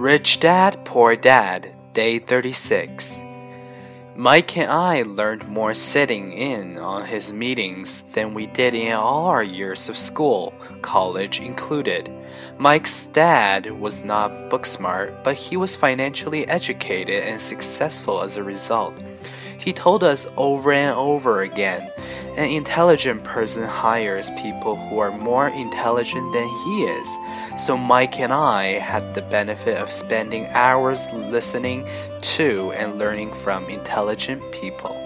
Rich Dad, Poor Dad, Day 36. Mike and I learned more sitting in on his meetings than we did in all our years of school, college included. Mike's dad was not book smart, but he was financially educated and successful as a result. He told us over and over again, an intelligent person hires people who are more intelligent than he is. So Mike and I had the benefit of spending hours listening to and learning from intelligent people.